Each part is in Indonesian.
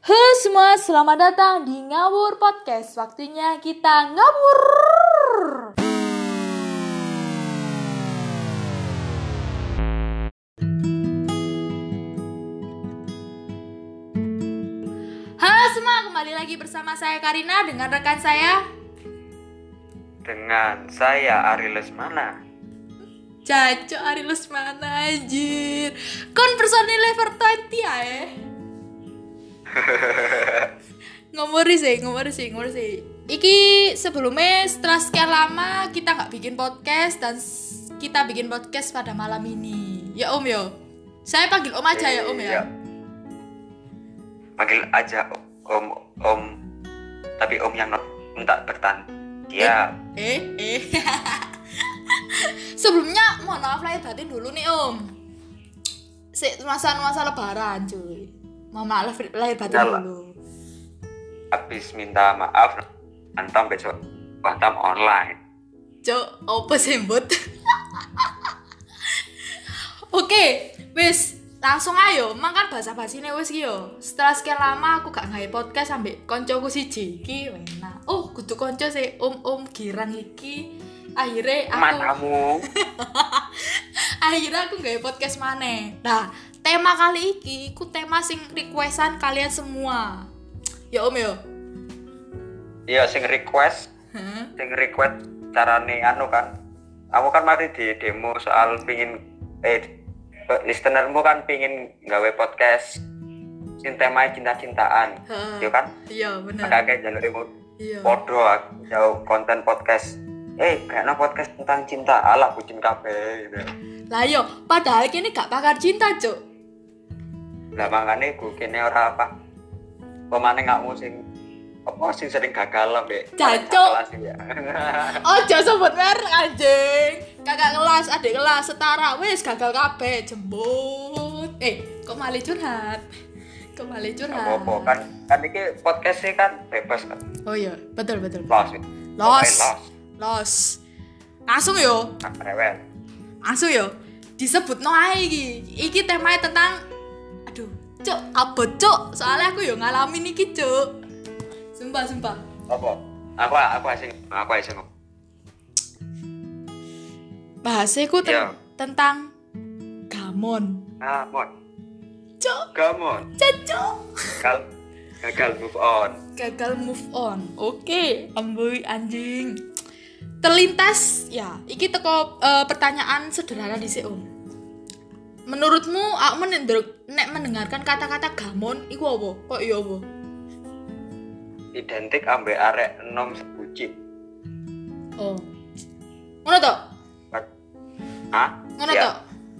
Halo semua, selamat datang di Ngawur Podcast. Waktunya kita ngawur. Halo semua, kembali lagi bersama saya Karina dengan rekan saya. Dengan saya Ari Lesmana. Cacok Ari Lesmana anjir. Kon personil level 20 ya ngomori sih. Iki sebelumnya setelah sekian lama kita nggak bikin podcast dan kita bikin podcast pada malam ini. Ya Om yo. Saya panggil Om aja ya Om ya. Iya. Panggil aja Om. Tapi Om yang minta bertahan. Dia. Sebelumnya mohon maaf lahir batin dulu nih Om. Masa lebaran cuy. Mohon maaf lahir batin dulu. Habis minta maaf, antam besok antam online. Cok, apa sembut? Oke, wis langsung ayo. Makan basa-basine wis ki yo. Setelah sekian lama aku gak gawe podcast sampe koncoku siji iki enak. Oh, kudu konco sih Om girang iki. Akhirnya aku gawe podcast maneh. Nah, tema kali iki ku tema sing requestan kalian semua. Ya Om yo. Iya, sing request carane anu kan. Kamu kan mari di demo soal pingin listenermu kan pingin gawe podcast sing temanya cinta-cintaan. Iya kan? Iya, bener. Kayak jalurmu. Iya. Podo jauh konten podcast. Kayaknya podcast tentang cinta ala bucin kabeh gitu. Lah yo, padahal kini gak pakar cinta, Cuk. Lah makane gue kene ora apa. Pemane ngakmu sing sering gagal mbek. Jancuk. Ya. Ojo sebut merek anjing. Kakak kelas, adik kelas setara wis gagal kabeh jembut. Kok malah curhat? Apa kan iki podcast kan bebas kan. Oh iya, betul. Los. Langsung yo. Rewel. Langsung yo. Disebutno ae iki. Iki temanya tentang Cuk, apa Cuk? Soalnya aku yo ngalamin iki, Cuk. Sumpah. Apa? Aku asing. Bahasaku tentang gamon. Cuk. Gamon. Cuk. Gagal move on. Oke, amboy anjing. Terlintas ya, iki teko pertanyaan sederhana dhisik Om. Menurutmu aku nek mendengarkan kata-kata gamon iku apa? Kok iya apa? Identik ambek arek enom sebucin. Oh. Ngono to? Hah? Ngono to?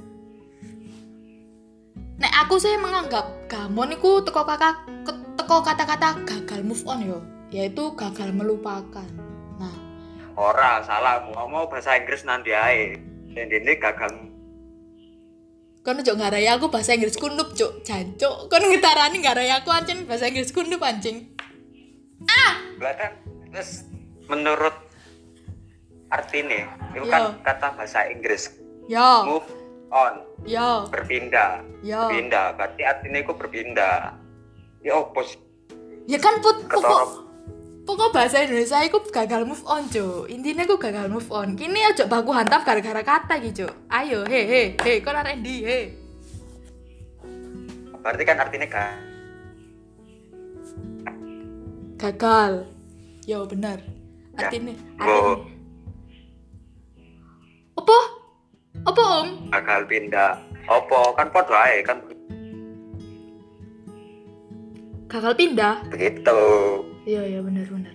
Nek aku sih menganggap gamon iku teko kata-kata gagal move on yo, yaitu gagal melupakan. Nah, ora salah ngomong bahasa Inggris nanti ae. Dene gagal. Kon ojo ngarai aku bahasa Inggris kundup, Cuk. Jancuk. Kon ngetarani ngarai aku ancen bahasa Inggris kundup anjing. Belakang terus menurut artinya itu kan kata bahasa Inggris. Yo. Move on. Yo. Berpindah. Yo. Pindah. Berarti artinya itu berpindah. Ya opos. Ya kan pokok bahasa Indonesia iku gagal move on, Cuk. Intinya aku gagal move on. Kini aja baku hantam gara-gara kata iki, Cuk. Ayo, he, kon arek ndi, he. Berarti kan artinya gagal. Yo, bener. Artinya. Apa, Om? Gagal pindah. Apa kan podo ae kan. Gagal pindah. Begitu. Iya bener. Bener.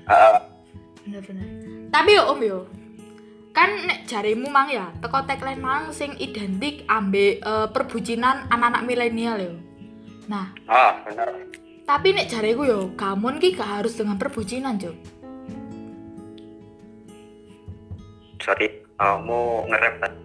Tapi yo Om yo. Kan nek jarimu mang ya, teko tagline mang sing identik ambek perbucinan anak-anak milenial yo. Nah, bener. Tapi nek jariku yo, gamon ki gak harus dengan perbucinan, Cuk. Sorry, mau nge-rap kan?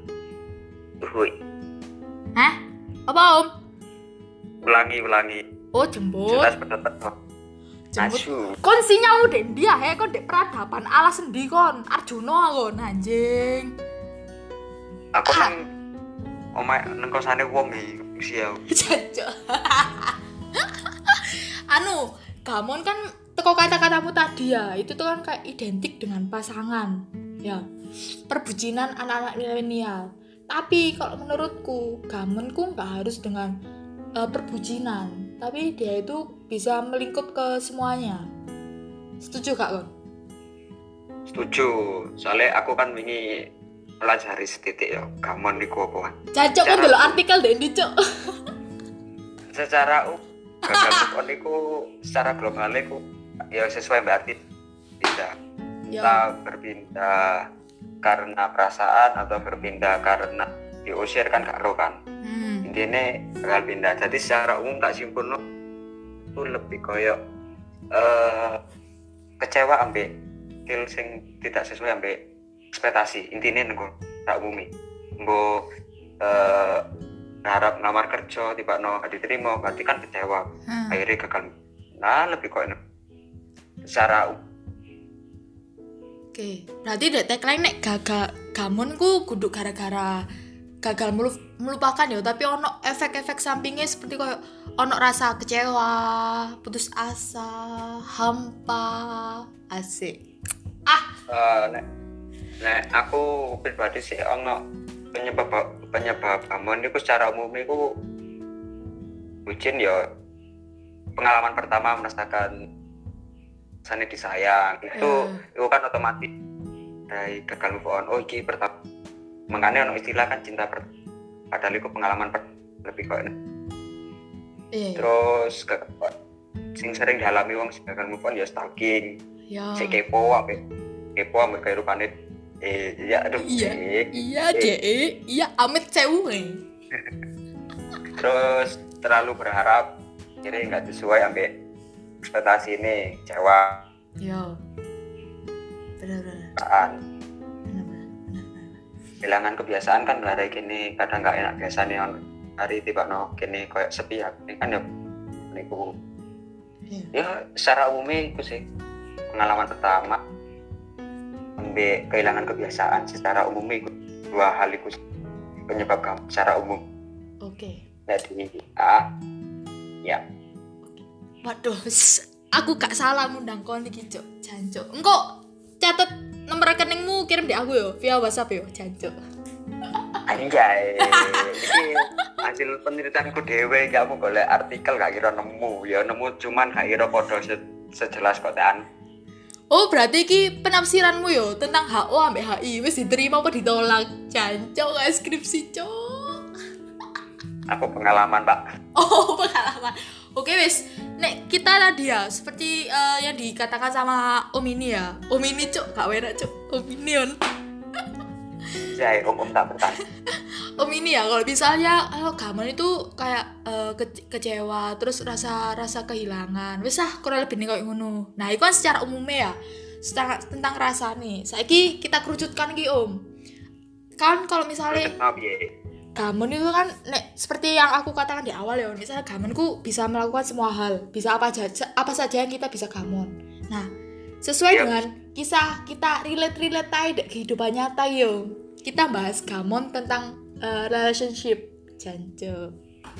Hah? Apa Om? Ulangi. Oh, jembut. Jelas bener. Jembut. Kon sinyalmu dek dia kon dek peradaban alas sendi kon. Arjuna kon anjing. Aku nang omah nang kosane wong iki usia. Jancuk. gamon kan teko kata-katamu tadi ya, itu tuh kan kayak identik dengan pasangan ya, perbucinan anak-anak milenial. Tapi kalau menurutku gamonku nggak harus dengan perbucinan, tapi dia itu bisa melingkup ke semuanya. Setuju gak Kon? Setuju, soalnya aku kan wingi pelajari setitik ya gamon niku apa. Cacok kan dulu artikel deh ini cok. Secara gagal move on niku secara global niku ya sesuai berarti bisa. Kita berpindah karena perasaan atau berpindah karena diusir kan gak ro kan. Intinya bakal pindah. Jadi secara umum tak simpulno itu lebih koyo kecewa ambek skill sing tidak sesuai ambek ekspektasi. Intinya nengko tak umumi. Mbok harap ngelamar kerja tiba-tiba gak diterima, berarti kan kecewa. Akhirnya gagal. Nah, lebih koyo secara Oke, berarti dek tagline nek gagal gamonku kudu gara-gara gagal melupakan ya, tapi ono efek-efek sampingnya seperti kayak ono rasa kecewa, putus asa, hampa, asik. Nek aku pribadi sih ono penyebab gamon itu secara umum itu bucin ya, pengalaman pertama merasakan sana disayang itu kan otomatis dari gagal move on. Oh iki pertama, makanya ono istilah kan cinta padahal itu pengalaman lebih kok. Terus sing sering dialami wong sing gagal move on ya stalking, si kepo ambek kehidupan iya amit sewu. Terus terlalu berharap kira nggak sesuai ambek ekspektasi ini, kecewa. Benar. Kehilangan kebiasaan kan hari gini kadang nggak enak biasanya hari tiba gini kayak sepi ya, ini kan ya niku. Ya secara umumnya itu sih pengalaman pertama ambek kehilangan kebiasaan secara umumnya itu dua hal itu penyebab kamu secara umum. Oke. Jadi ya. Waduh, aku gak salah ngundang kon iki, Cuk. Jancuk. Engko catet nomor rekeningmu kirim di aku yo via WhatsApp yo, jancuk. Anjay. Iki hasil penelitianku dhewe, kamu golek artikel gak kira nemu, ya nemu cuman gak kira padha sejelas kotaan. Oh, berarti iki penafsiranmu yo tentang HO ambek HI wis diterima apa ditolak? Jancuk gak skripsi, Cuk. Aku pengalaman, Pak. Oh, pengalaman. Oke wis, nek kita tadi ya seperti yang dikatakan sama Om ini ya. Om ini Cuk, gak enak Cuk. Om ini on. Jai, Om tak bertanya. Om ini ya, kalau misalnya gamon itu kayak kecewa, terus rasa kehilangan. Wis kurang lebih nih kayak ngono. Nah, itu kan secara umumnya ya. Tentang rasa nih. Saiki kita kerucutkan iki Om. Kan kalau misalnya gamon itu kan seperti yang aku katakan di awal ya, misalnya gamonku bisa melakukan semua hal, bisa apa saja yang kita bisa gamon. Nah, sesuai dengan kisah kita relate aja kehidupan nyata yo. Kita bahas gamon tentang relationship, jancuk.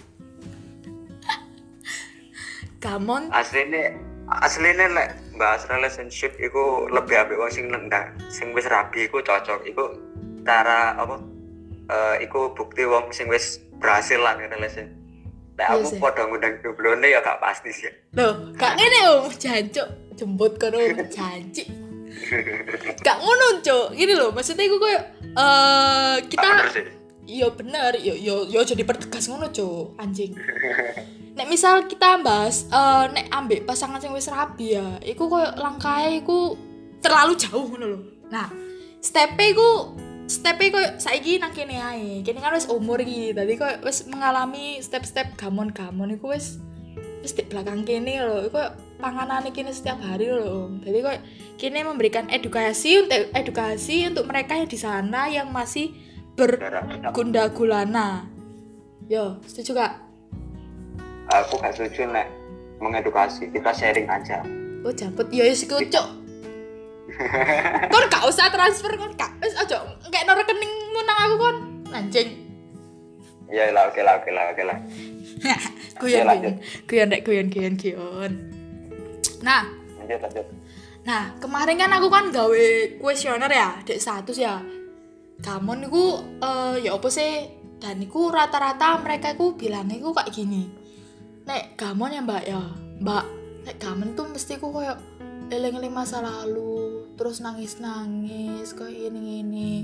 Gamon aslinya lek bahas relationship itu lebih ambek wong sing nendang, sing wis rabi iku cocok, iku cara apa? Iku bukti wong sing wis berhasil lah ning relation. Nek aku padha ngundang joblone ya gak pasti sih. Loh, gak ngene Om, jancuk. Jembut kono janji. Gak ngono, Cuk. Gini loh, maksudnya iku koyo kita iya bener, yo jadi pertegas ngono, Cuk. Anjing. Nek misal kita bahas nek ambek pasangan sing wis rabi ya, iku koyo langkahe iku terlalu jauh ngono lho. Nah, step-e koyo saiki nang kene ae. Kene kan wis umur iki, dadi koyo wis mengalami step-step gamon-gamon iku wis di belakang kene lho. Iku koyo panganane kene setiap hari lho. Dadi koyo kene memberikan edukasi untuk mereka yang di sana yang masih bergunda gulana. Yo, setuju gak? Aku gak setuju nek mengedukasi, kita sharing aja. Oh, jambut ya wis iku, Cuk. Kon gak usah transfer kon gak. Wis aja kayak rekeningmu nang aku kon. Anjing. Iya lah, oke lah. Guyon. Nah, lanjut. kemarin kan aku kan gawe kuesioner ya, dek status ya. Gamon iku ya apa sih? Dan iku rata-rata mereka iku bilang iku kayak gini. Nek gamon ya Mbak ya. Mbak, nek gamon tuh mesti ku koyo eling-eling masa lalu, terus nangis-nangis kayak ini.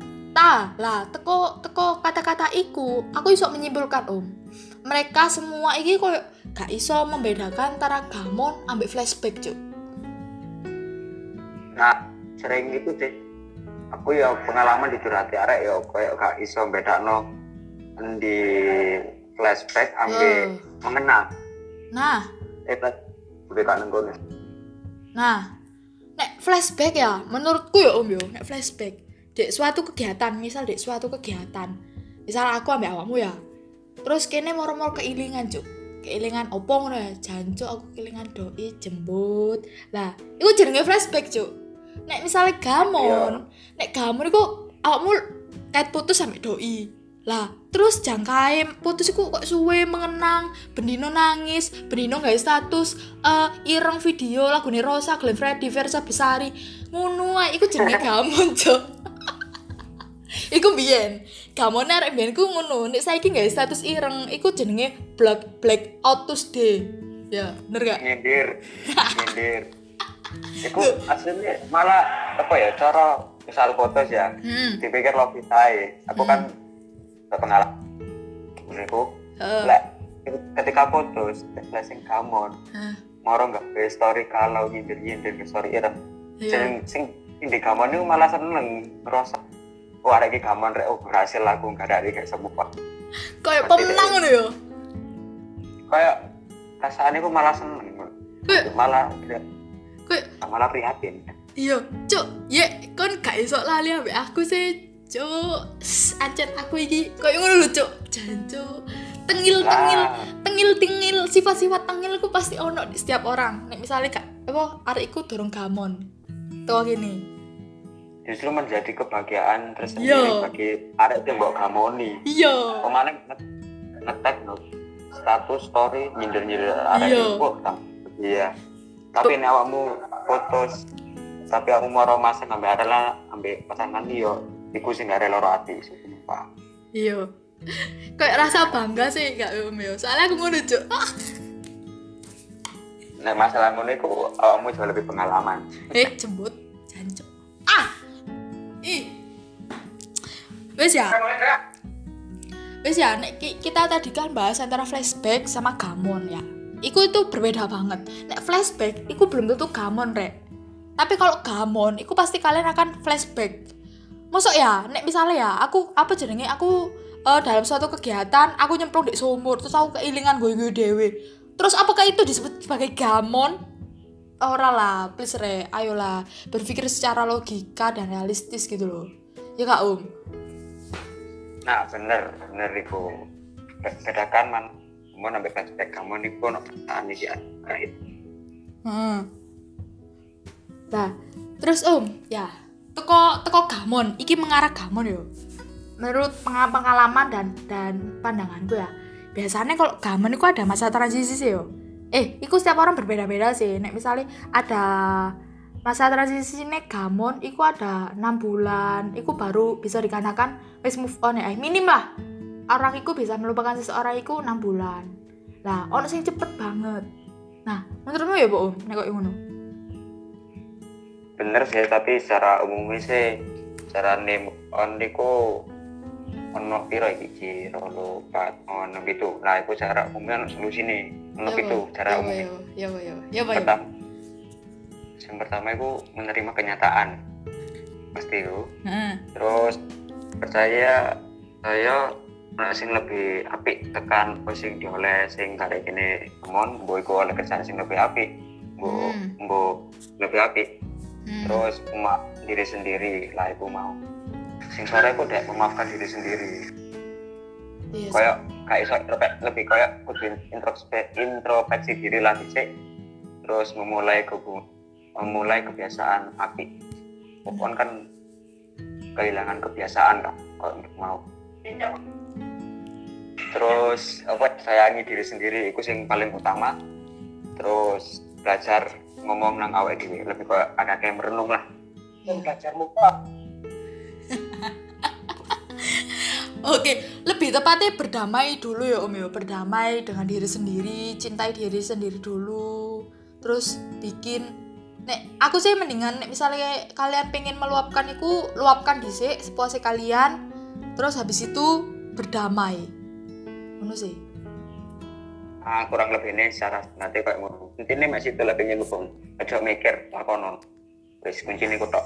Teko kata-kata iku, aku iso menyimpulkan mereka semua iki koyo gak iso membedakan antara gamon ambek flashback, Cuk. Nah, sering gitu sih. Aku ya pengalaman di curhati arek ya koyo gak iso bedakno di flashback ambek mengenang. Nah, nek flashback ya, menurutku ya nek flashback dek suatu kegiatan, misal aku ambek awakmu ya, terus kene moro-moro keilingan opo ngono ya, jancuk aku keilingan doi jembut lah, iku jenenge flashback Cuk. Nek misale gamon iku awakmu kait putus sampe doi lah, terus jangkae putus iku kok suwe mengenang, bendino nangis, bendino gawe status ireng video lagune Rosa, Glenn Fredly, Versa Besari ngono ae, iku jenenge gamon Cuk. Iku biyen, gamone arek biyen ku ngono, nek saiki gawe status ireng iku jenenge black out Tuesday. Ya, bener gak? Nyindir. Iku aslinya malah apa ya, cara misal fotos ya, dipikir logikae. Aku kan pengalaman iku ketika fotos flashing gamon moro gak be story kalau nyindir ke story ireng. Sing di gamon itu malah seneng ngerasa arek iki gamon rek berhasil aku gak ada kayak semua. Kayak pemenang ngono ya. Kayak rasane ku malah seneng. Malah prihatin. Iya, Cuk. Ye, kon gak iso lali ambek aku sih, Cuk. Ancen aku iki koyo ngono lho, Cuk. Jancuk. Tengil, sifat-sifat tengil ku pasti ono di setiap orang. Nek misale gak arek iku dorong gamon. Tuh gini. Justru menjadi kebahagiaan tersendiri bagi arek yang mbok gamoni. Iya. Kemana nge-tag status story nyindir arek iku. Iya. Tapi nek awakmu fotos tapi aku mau romansa ngambil adalah ambil pasangan dia iku sing gak rela ati sumpah. Iya. Kayak rasa bangga sih gak yo. Soalnya aku ngono Cuk. Nek masalah ngono iku awakmu jauh lebih pengalaman. Jembut jancuk. Wes ya, nek kita tadi kan bahas antara flashback sama gamon ya. Iku itu berbeda banget. Nek flashback, iku belum tentu gamon rek. Tapi kalau gamon, iku pasti kalian akan flashback. Mosok ya, nek misalnya ya, aku dalam suatu kegiatan, aku nyemplung di sumur, terus aku keilingan gue dewe. Terus apakah itu disebut sebagai gamon? Ora lah, please re, ayolah berpikir secara logika dan realistis gitu loh. Ya kak Nah bener iku. Bedakan man, mau nambah flashback gamon iku ono pertanyaan iki kait. Nah, terus ya, teko gamon, iki mengarah gamon yo. Menurut pengalaman dan pandanganku ya, biasanya kalau gamon itu ada masa transisi sih yo. Iku setiap orang berbeda-beda sih. Nek misalnya ada masa transisi nek gamon, iku ada 6 bulan, iku baru bisa dikatakan wis move on ya. Minim lah. Orang iku bisa melupakan seseorang iku 6 bulan. Lah, ono sing cepet banget. Nah, menurutmu ya, Bu, nek koyo ngono? Bener sih, tapi secara umumnya sih cara move on iku ono piro iki 2 4 ono gitu. Nah, iku cara umumnya ono solusine. Ono itu cara umumnya. Ya, Pak. Yang pertama iku menerima kenyataan. Pasti itu. Terus percaya saya sing lebih apik tekan sing dioleh sing karek kene mon mbok iku oleh kerjaan sing lebih apik. Mbok lebih apik. Terus diri sendiri lah iku mau. Sing sore aku udah memaafkan diri sendiri. Yes. Kayak iso lebih kayak kudu introspeksi diri lagi sih. Terus memulai kebiasaan apik. Pokoknya kan kehilangan kebiasaan kan kalau untuk mau. terus sayangi diri sendiri itu yang paling utama. Terus belajar ngomong nang awake dhewe, lebih ke ada kayak merenung lah. Belajar muka. Oke, lebih tepatnya berdamai dulu ya Om ya, berdamai dengan diri sendiri, cintai diri sendiri dulu. Terus aku sih mendingan misalnya kalian pengen meluapkan itu, luapkan dhisik sepuasnya kalian. Terus habis itu berdamai. Ngono sih. Kurang lebih ini secara nanti kayak ngono. Intine masih itu lebih ngubung. Aja mikir lakonon. Wis kuncine ku tok.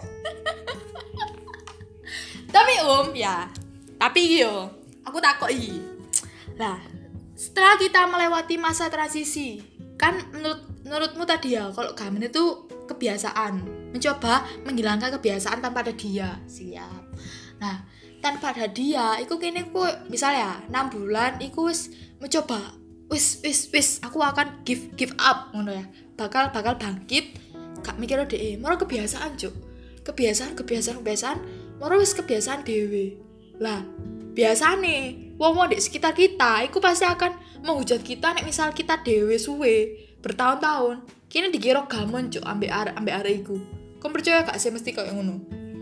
Tapi Om ya, tapi yo, aku takoki. Lah, setelah kita melewati masa transisi, kan menurutmu tadi ya, kalau gamen itu kebiasaan, mencoba menghilangkan kebiasaan tanpa ada dia. Siap. Nah, tanpa ada dia, iku kene ku misalnya 6 bulan iku wis mencoba, wis aku akan give up ngono ya. Bakal bangkit, gak mikir dhek. Moro kebiasaan, Cuk. Kebiasaan, moro wis kebiasaan dhewe. Lah, biasane wong-wong di sekitar kita iku pasti akan menghujat kita nek misal kita dhewe suwe bertahun-tahun. Kini dikira gamon Cuk ambek arek iku. Kau percaya gak sih mesti kayak ngono?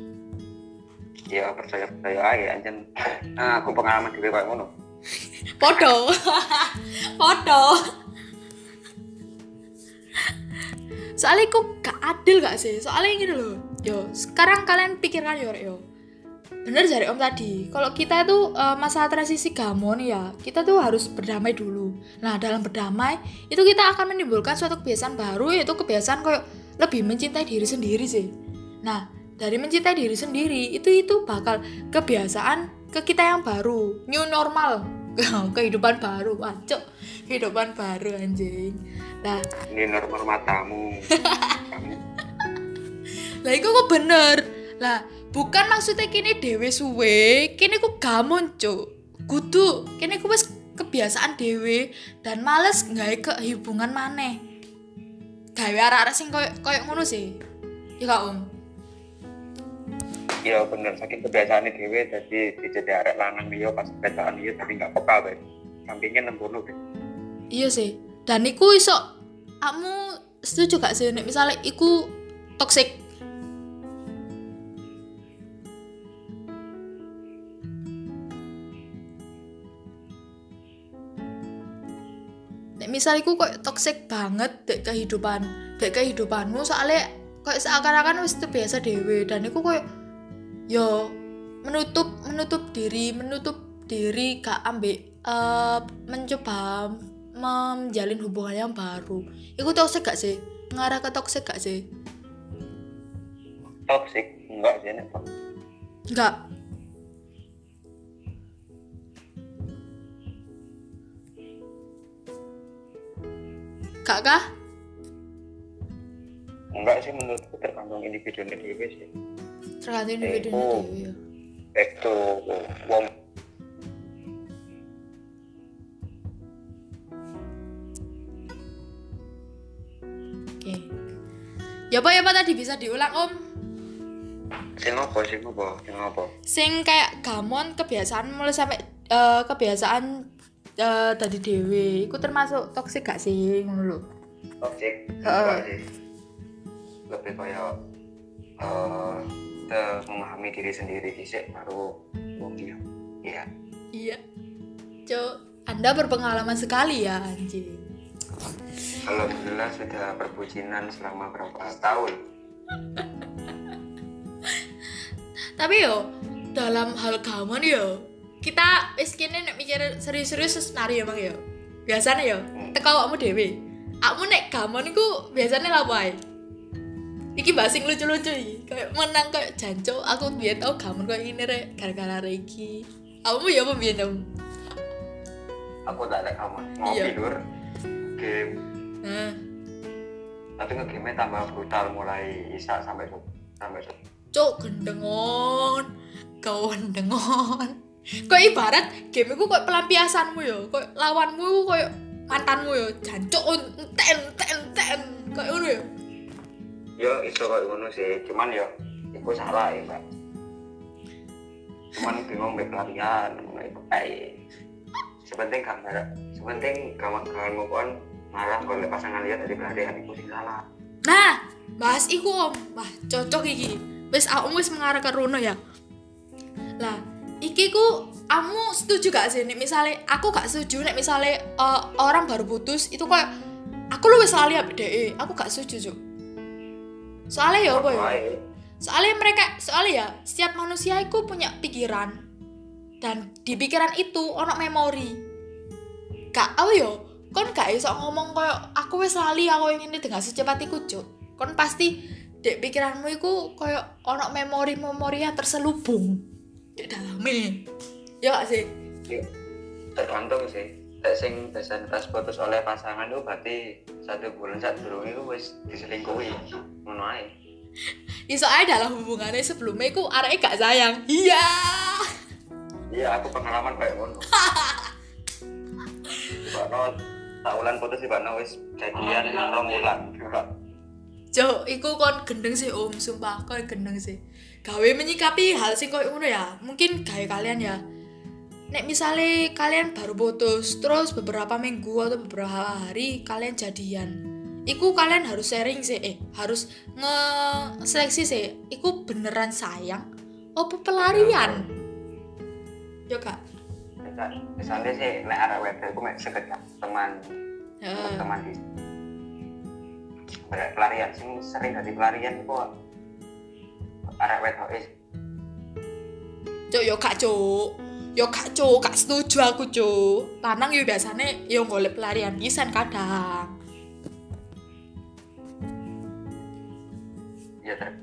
Ya percaya aja anjen. Aku pengalaman dhewe kayak ngono. Podo. Soalnya aku gak adil gak sih? Soalnya gini loh. Yo, sekarang kalian pikirkan yo. Bener dari Om tadi, kalau kita itu masa transisi gamon ya, kita tuh harus berdamai dulu. Nah, dalam berdamai itu kita akan menimbulkan suatu kebiasaan baru, yaitu kebiasaan kayak lebih mencintai diri sendiri sih. Nah, dari mencintai diri sendiri itu bakal kebiasaan ke kita yang baru, new normal, kehidupan baru, wacok, kehidupan baru anjing. Nah, ini normal matamu. Lah, itu kok bener. Lah, bukan maksudnya kini dewe suwe, kini ku gamon Cuk. Kudu, kini ku wis kebiasaan dewe dan males gawe kehubungan maneh. Gawe arek-arek sing koyo ngono sih. Ya gak Om? Iya bener, saking kebiasaan dhewe dadi dijadi arek lanang liya pas kebiasaan liya tapi gak peka wae. Sampingnya nembono kan. Iya sih. Dan iku iso kamu setuju gak sih nek misale iku toxic? Misal iku kok toksik banget dek kehidupanmu soalnya kok seakan-akan wis terbiasa dhewe dan iku kok yo menutup diri gak ambek mencoba menjalin hubungan yang baru. Iku toksik gak sih? Ngarah ke toksik gak sih? Toksik enggak sih nek. Enggak. Kak? Enggak sih, menurutku tergantung individu dhewe sih. Tergantung individu dhewe ya. Itu wong Oke. Ya apa tadi bisa diulang Om? Sing apa? Sing kayak gamon kebiasaan mulai sampai kebiasaan tadi dewe, itu termasuk toksik gak sih ngono lho? Toksik enggak sih. Lebih kayak memahami diri sendiri dhisik baru wong dia. Iya. Iya. Cuk, Anda berpengalaman sekali ya anjing. Alhamdulillah sudah perbucinan selama berapa tahun. Tapi yo dalam hal gamon yo kita wis kene nek mikir serius-serius senario Bang yo. Biasane yo teko awakmu dhewe. Awakmu nek gamon iku biasane lha wae. Iki basing lucu-lucu iki. Kayak menang kayak jancuk aku biyen tau gamon koyo ngene rek gara-gara iki. Awakmu ya apa biyen dong? Aku tak ada gamon. Ngopi lur. Game. Tapi nge-game tambah brutal mulai isak sampai Cuk gendengon. Kok ibarat game iku kok pelampiasanmu yo, kok lawanmu kok mantanmu yo, jancuk enten kok ngono yo. Yo iso kok ngono sih, cuman yo iku salah ya, Mbak. Cuman bingung mbek pelarian, mulai pekai. sepenting kawan move on malah golek pasangan lihat dari pelarian iku sing salah. Nah, bahas iku Om. Wah, cocok iki. Wis aku wis mengarah ke rono ya. Lah, iki ku kamu setuju gak sih nek misale aku gak setuju nek misale orang baru putus itu kayak aku lu wis lali ambek dhek. Aku gak setuju, Cuk. Soalnya ya apa ya? Soalnya ya setiap manusia itu punya pikiran dan di pikiran itu ono memori. Gak apa ya? Kon gak iso ngomong koyo aku wis lali aku ingin dengan secepat iku, Cuk. Kon pasti dek pikiranmu iku koyo ono memori-memori yang terselubung di daleme. Ya gak sih? Ya, tergantung sih. Nek sing besan pas putus oleh pasangan itu berarti 1 bulan sadurunge iku wis diselingkuhi. Ngono ae. Iso ae dalam hubungannya sebelumnya iku areke gak sayang. Iya. Iya, aku pengalaman kayak ngono. Bakno tak ulan putus Bakno wis jadian 2 bulan. Cuk, iku kon gendeng sih Om, sumpah kon gendeng sih. Gawe menyikapi hal sing koyo ngono ya. Mungkin gawe kalian ya. Nek misale kalian baru putus, terus beberapa minggu atau beberapa hari kalian jadian. Iku kalian harus sharing sih, harus nge-seleksi sih. Iku beneran sayang apa pelarian? Yo Kak. Misalnya sih nek arek wedok iku mek sekedar teman di pelarian sing sering dadi pelarian iku arek wedok Cuk, yo gak cuk, gak setuju aku cuk. Lanang yo biasane yo golek pelarian pisan kadang. Iya ter.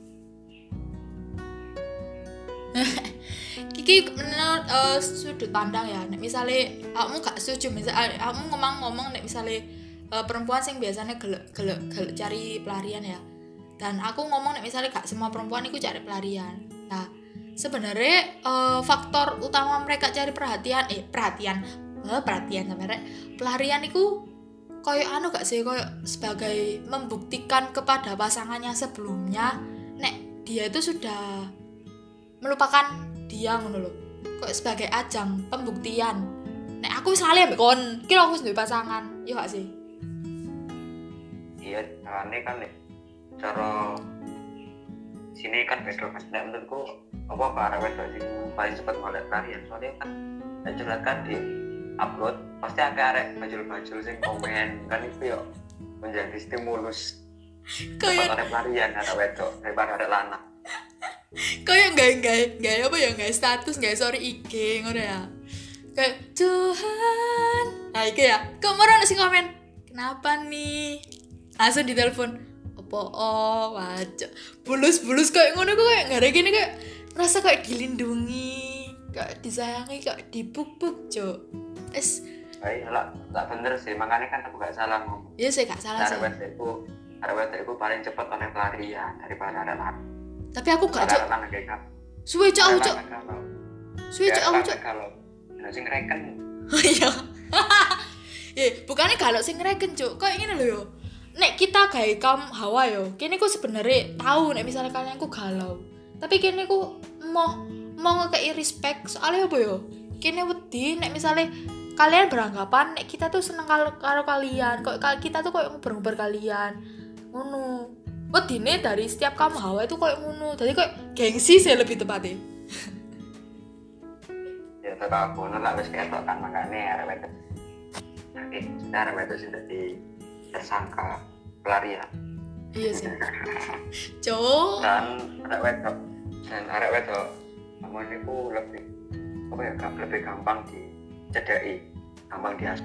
Iki menurut sudut pandang ya. Nek misale kamu gak setuju, misale kamu ngomong nek misale perempuan sing biasanya gelek cari pelarian ya. Dan aku ngomong nek misale gak semua perempuan iku cari pelarian. Nah, sebenarnya faktor utama mereka cari perhatian sampai pelarian itu koyo gak sih koyo sebagai membuktikan kepada pasangannya sebelumnya nek dia itu sudah melupakan dia ngono lho. Koyo sebagai ajang pembuktian. Nek aku wis lali ambek kon, kira aku wis duwe pasangan, iya gak sih? Iya, carane kan nek cara sini kan beda kan. Nek menurutku apa arek wedok sing paling cepet golek pelarian soalnya kan nek curhat kan di upload pasti arek bajul-bajul sing komen kan itu yo menjadi stimulus Kayak oleh pelarian arek wedok daripada arek lanang. Kayak nggak status nggak story IG ngono ya. Kayak Tuhan. Nah iki ya. Kok marah sing komen? Kenapa nih? Langsung ditelepon. Wajah bulus kayak ngono kok kayak nggak ada gini kayak merasa kayak dilindungi, kayak disayangi, kayak dipuk-puk, Cuk. Ayolah, tak bener sih, makanya kan aku gak salah ngomong. Iya sih gak salah sih. Arek wedok paling cepet oleh pelarian daripada arek lanang. Tapi aku gak, Cuk. Arek lanang kayak Suwe Cuk aku, Cuk. Kalau sing reken. Iya. Bukannya kalau sing reken, Cuk. Kayak ngene lho yo. Nek kita gawe kaum hawa yo, kene ku sebenarnya tahu nek misalnya kalian ku galau. Tapi kene ku mau ngekei respect soalnya apa yo? Kene wedi nek misalnya kalian beranggapan nek kita tuh seneng karo kalian, kok kita tuh koyo ngobrol kalian. Ngono. Wedine dari setiap kaum hawa itu koyo ngono. Jadi koyo gengsi sih lebih tepatnya. Ya tetap aku nolak wis ketok kan makane arek wedok. Nanti arek wedok sudah tersangka pelarian. Iya sih. Cuk. Dan arek wedok amun niku lebih gampang dicedhaki, gampang diasuh.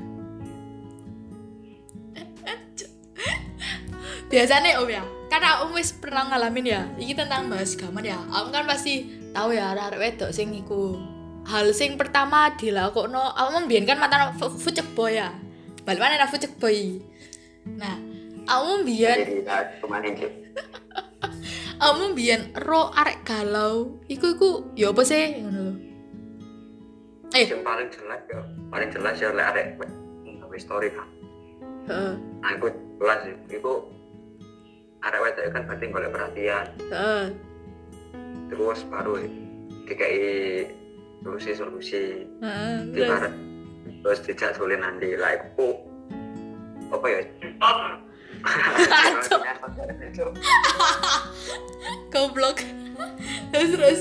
Biasanya Om ya, karena Om wis pernah ngalamin ya, iki tentang bahas gaman ya. Om kan pasti tahu ya arek wedok sing iku. Hal sing pertama dilakokno, Om mbiyen kan mantan fucek boy ya. Balik mana fucek boy. Nah, Om mbiyen ro arek galau, iku ya apa sih ngono lho. Yang paling jelas ya lek arek gawe story kan. Heeh. Nah, iku jelas iku arek wedok kan berarti golek perhatian. Heeh. Terus baru dikai solusi. Heeh. terus dijak dolen nanti lah iku apa ya Goblok. Terus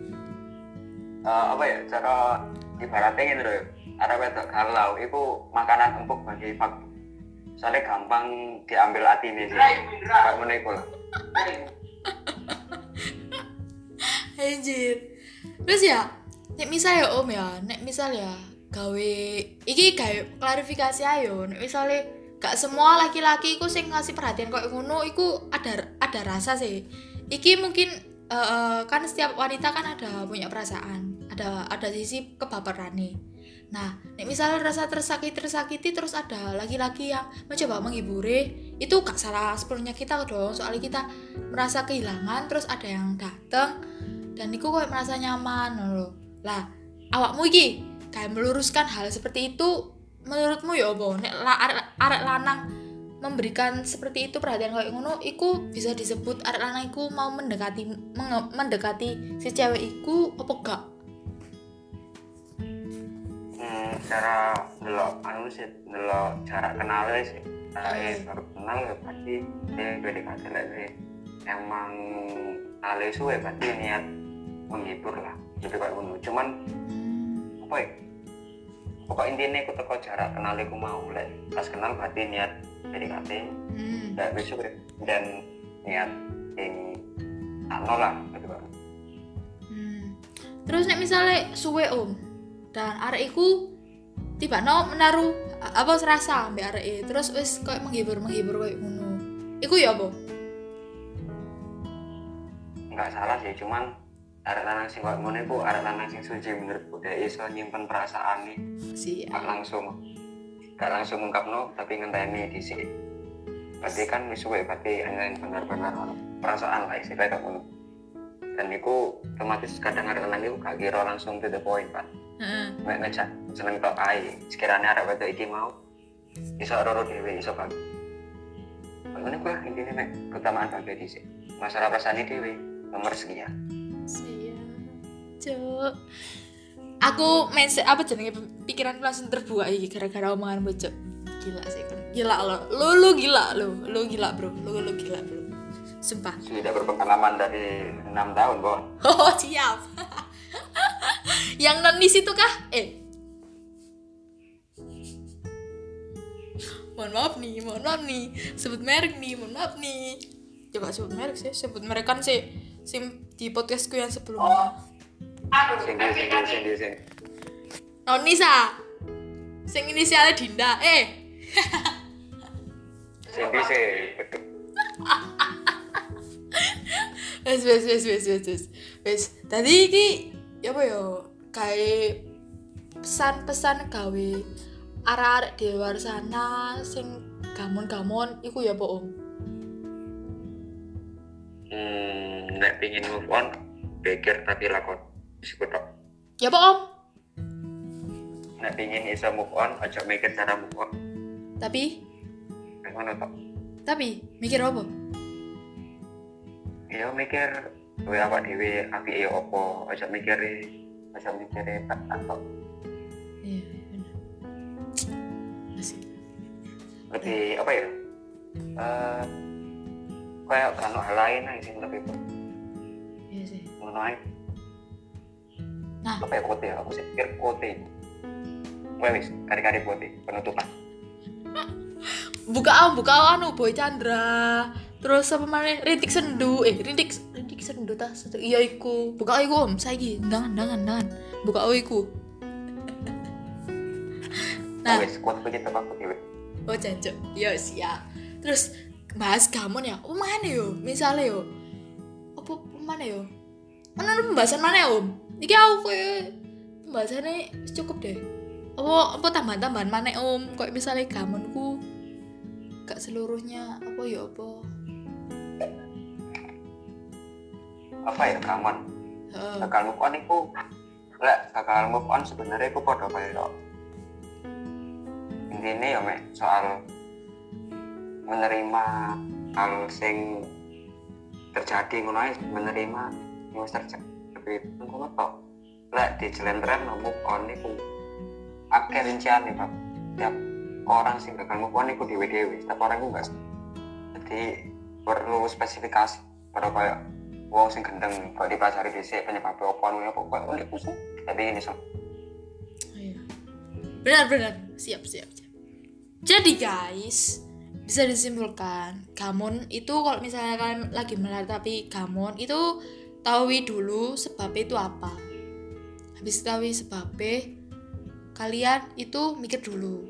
apa ya cara ibaratnya gitu loh arah wedok galau itu makanan empuk bagi fak soalnya gampang diambil hati nih sih kayak mana itu lah anjir. Terus ya nek misal ya om ya nek misal ya gawe iki gawe klarifikasi ayo nek misale gak semua laki-laki iku sing ngasih perhatian koyo ngono iku ada rasa sih iki mungkin kan setiap wanita kan ada punya perasaan ada sisi kebaperane. Nah, nek misalnya rasa tersakiti terus ada laki-laki yang mencoba menghiburi, itu gak salah sepenuhnya kita dong. Soalnya kita merasa kehilangan, terus ada yang datang dan iku kok merasa nyaman loh. Lah, awakmu iki kayak meluruskan hal seperti itu menurutmu ya apa? Nek arek lanang memberikan seperti itu perhatian kayak ngono, iku bisa disebut arek lanang iku mau mendekati si cewek iku apa gak? Cara delok anu sih delok cara kenalnya sih baru kenal ya pasti dia PDKT lagi emang kenalnya suwe pasti niat menghibur lah gitu kayak ngono cuman apa ya pokok intinya aku teko cara kenalnya aku mau lah pas kenal berarti niat PDKT dan besok dan niat yang anu lah gitu kan terus nek misalnya suwe om dan arek iku tiba-tiba menaruh apa serasa ambek arek terus wis koyo menghibur koyo ngono. Iku ya apa? Enggak salah sih, cuman arek lanang sing koyo ngono iku arek lanang sing suci menurutku dia iso nyimpen perasaan nih. Gak langsung ungkapno tapi ngenteni dhisik. Berarti kan wis suwe berarti ana benar-benar perasaan lah istilahnya kayak ngono. Dan iku otomatis kadang arek lanang iku gak kira langsung to the point, Pak. Mek ngejak seneng tok ae. Sekiranya arek wedok iki mau iso roro dhewe iso bagi. Ngene kuwi intine mek keutamaan bagi dhisik. Masalah perasaan dhewe nomor sekian. Siap. Cuk. Aku apa jenenge pikiranku langsung terbuka iki gara-gara omongan bocok. Gila sih kan. Gila lo. Lu gila lo. Lu gila, Bro. Lu gila, Bro. Sumpah. Sudah berpengalaman dari 6 tahun, Bon. Oh, siap. Yang non di situ kah? Mohon maaf nih. Sebut merek nih, mohon maaf nih. Coba sebut merek sih, sebut merek kan sih di podcastku yang sebelumnya. Sing. Nonisa. Sing inisialnya Dinda. Wes. Tadi iki ya apa ya? Kayak pesan-pesan gawe arek-arek di luar sana sing gamon-gamon iku ya apa Om? Nek pengin move on, pikir tapi lakon. Sikutok. Ya apa Om? Nek pengin iso move on, aja mikir cara move on. Tapi Ngono tok. Tapi mikir apa? Ya mikir kowe awak dhewe apike ya apa, aja mikire tak tok. Iya, benar. Asik. Lebih apa ya? Kayak kan hal lain aja sih lebih Iya sih. ngono ae. Nah, Apa ya kote? Aku sih pikir kote. Wes, kari-kari kote penutupan. buka anu Boy Chandra. Terus apa maneh Rintik Sendu. Rintik Sendu ta. Iya iku. Buka iku Om, saiki. Ndangan. Buka iku. Nah, Wes, kote begitu aku dhewe. oh jancuk. Yo siap. Terus bahas gamon ya. Oh mana yo? Misale yo. Apa mana yo? Mana pembahasan mana ya Om? Iki aku koyo pembahasannya cukup deh. Apa tambahan-tambahan mana Om? Kayak misalnya gamonku gak seluruhnya apa ya apa? Apa ya gamon? Gagal move on iku gagal move on sebenarnya iku padha kaya intine ya mek soal menerima hal sing terjadi ngono ae menerima yang terjadi ngono tok lek dijelentren move on iku akeh rincian nih Pak. Tiap orang sih gagal move on iku dewe-dewe, setiap orang iku enggak. Jadi perlu spesifikasi pada kayak wong sing gendeng kok dipelajari dhisik penyebabnya apa ngono apa kok iku sih. Tapi ini so. Iya. Benar. Siap. Jadi guys, bisa disimpulkan, gamon itu kalau misalnya kalian lagi meratapi gamon itu tahu dulu sebabnya itu apa. Habis tahu sebabnya, kalian itu mikir dulu.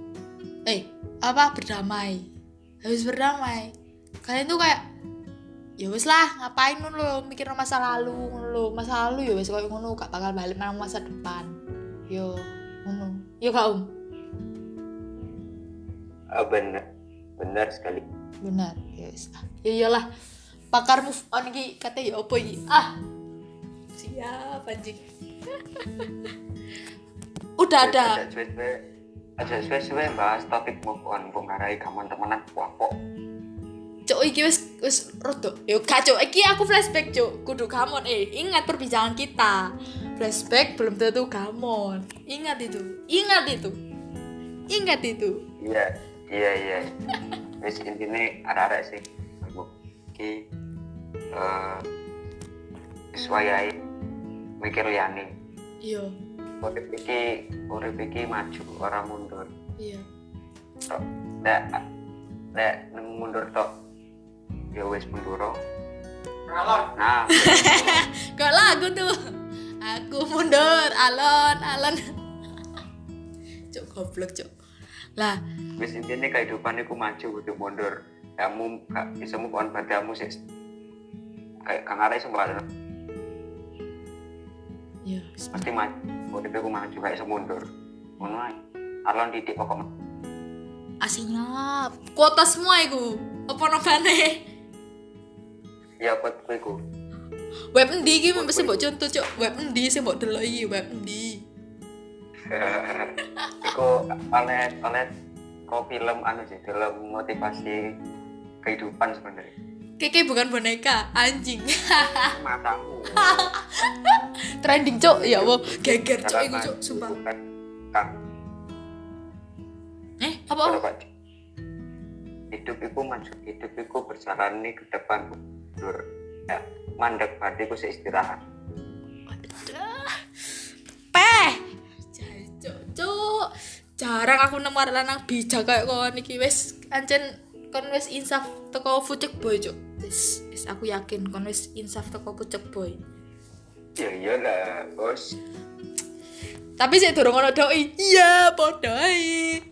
Berdamai. Habis berdamai, kalian tuh kayak ya wes lah, ngapain lo mikir masa lalu ya wes koyo ngono, gak bakal balik nang masa depan. Yo ngono. Yo Kak Benar sekali. Benar, yes. Ya iyalah. Pakar move on iki kate ya opo iki? Siap anjing. Udah ada. Aja suwe bahas topik move on kok ngarai gamon temenan wapok. Cuk iki wis rodo. Yo kacau. Iki aku flashback, Cuk. Kudu gamon. Ingat perbincangan kita. Flashback belum tentu gamon. Ingat itu. Iya. Wis intine arek-arek sih. Iki sesuai mikir liyane. Iya. Urip iki maju ora mundur. Iya. Tok. Nek mundur tok. Ya wis mundur. Nah. Kok lagu tuh. Aku mundur, alon. Cuk goblok, Cuk. Lah, wis intine kehidupan iku maju kudu mundur. Kamu gak bisa move on padamu sih. Kayak kang arek sembarang. ya, Pasti maju. Urip iku maju gak iso mundur. Ngono ae. Alon titik pokok. Asinya kuota semua iku. Apa nobane? Ya buat kowe iku. Web endi iki mesti mbok contoh, Cuk. Web endi sing mbok delok iki, web endi? Iku oleh kok film sih, film motivasi kehidupan sebenarnya. Keke bukan boneka, anjing. Matamu. Trending, Cuk. Ya Allah, geger Cuk iku, Cuk, sumpah. Apa? Hidup iku maju, hidup iku berjalan nih ke depan mundur. Ya, mandek berarti ku istirahat. Cuk. Jarang aku nemu arek lanang bijak kayak kon iki wis ancen kon wis insaf teko Fucek Boy, Cuk. Wis aku yakin kon wis insaf teko Fucek Boy. Ya iyalah, Bos. Tapi sik durung ono doi. Iya, padha ae.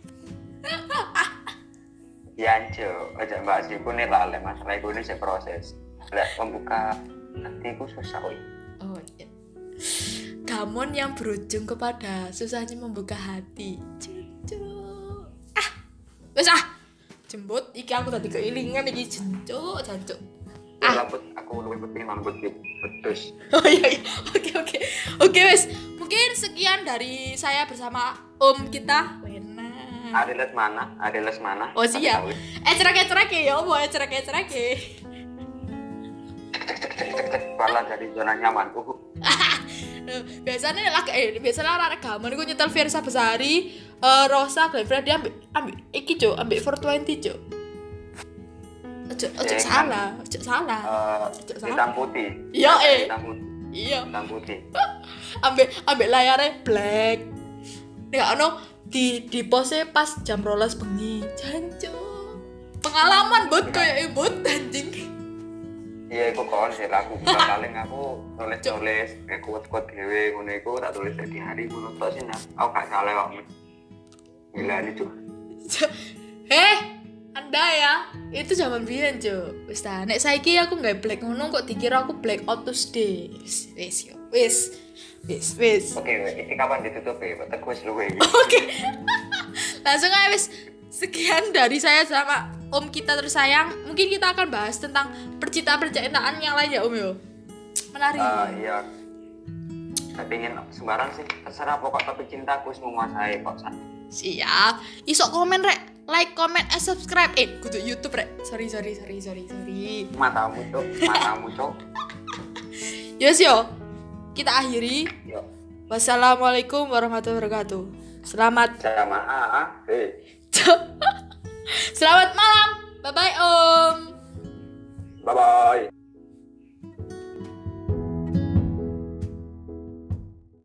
Ya anjo, aja bahas iku nih lah, masalah iku ini saya proses. Lek membuka hatiku susah oi. Oh iya. Gamon yang berujung kepada susahnya membuka hati. Cucu. Wes jembut iki aku tadi keilingan iki jancuk. Rambut aku luwih penting rambut pedes. Oh iya. Oke wes. Mungkin sekian dari saya bersama Om kita. Ada les mana? Oh siap. Cerek ya, mau cerek. Pala dari zona nyaman. Biasanya anak gaman iku nyetel Versa Besari, Rosa, Glenfred dia ambil iki, Cuk, ambil 420, Cuk. Ojo salah. Hitam putih. Iya, Hitam putih. Ambil layarnya black. Nek ono di pose pas jam 12 bengi. Jancuk. Pengalaman bot kayak bot anjing. Iya, aku kon sih lagu paling aku nulis kuat dhewe ngono iku tak tulis di hari ngono tok sih. Aku gak salah kok. Gila ini, Cuk. Anda ya, itu zaman biyen, Cuk. Wis ta, nek saiki aku gak black ngono kok dikira aku black out Tuesday. Wis. Oke, ini kapan ditutup ya? Teku wis luwe. Oke. Langsung aja wis. Sekian dari saya sama Om kita tersayang. Mungkin kita akan bahas tentang percintaan yang lain ya, Om yo. Menarik. Iya. Saya pengen sembarang sih. Terserah pokok topik cinta aku wis menguasai kok. Siap. Isok komen rek. Like, comment, and subscribe. Kudu YouTube rek. Sorry. Matamu, Cuk. Yes yo. Kita akhiri. Yo. Wassalamualaikum warahmatullahi wabarakatuh. Selamat Jamaah. Selamat malam. Bye bye Om. Bye bye.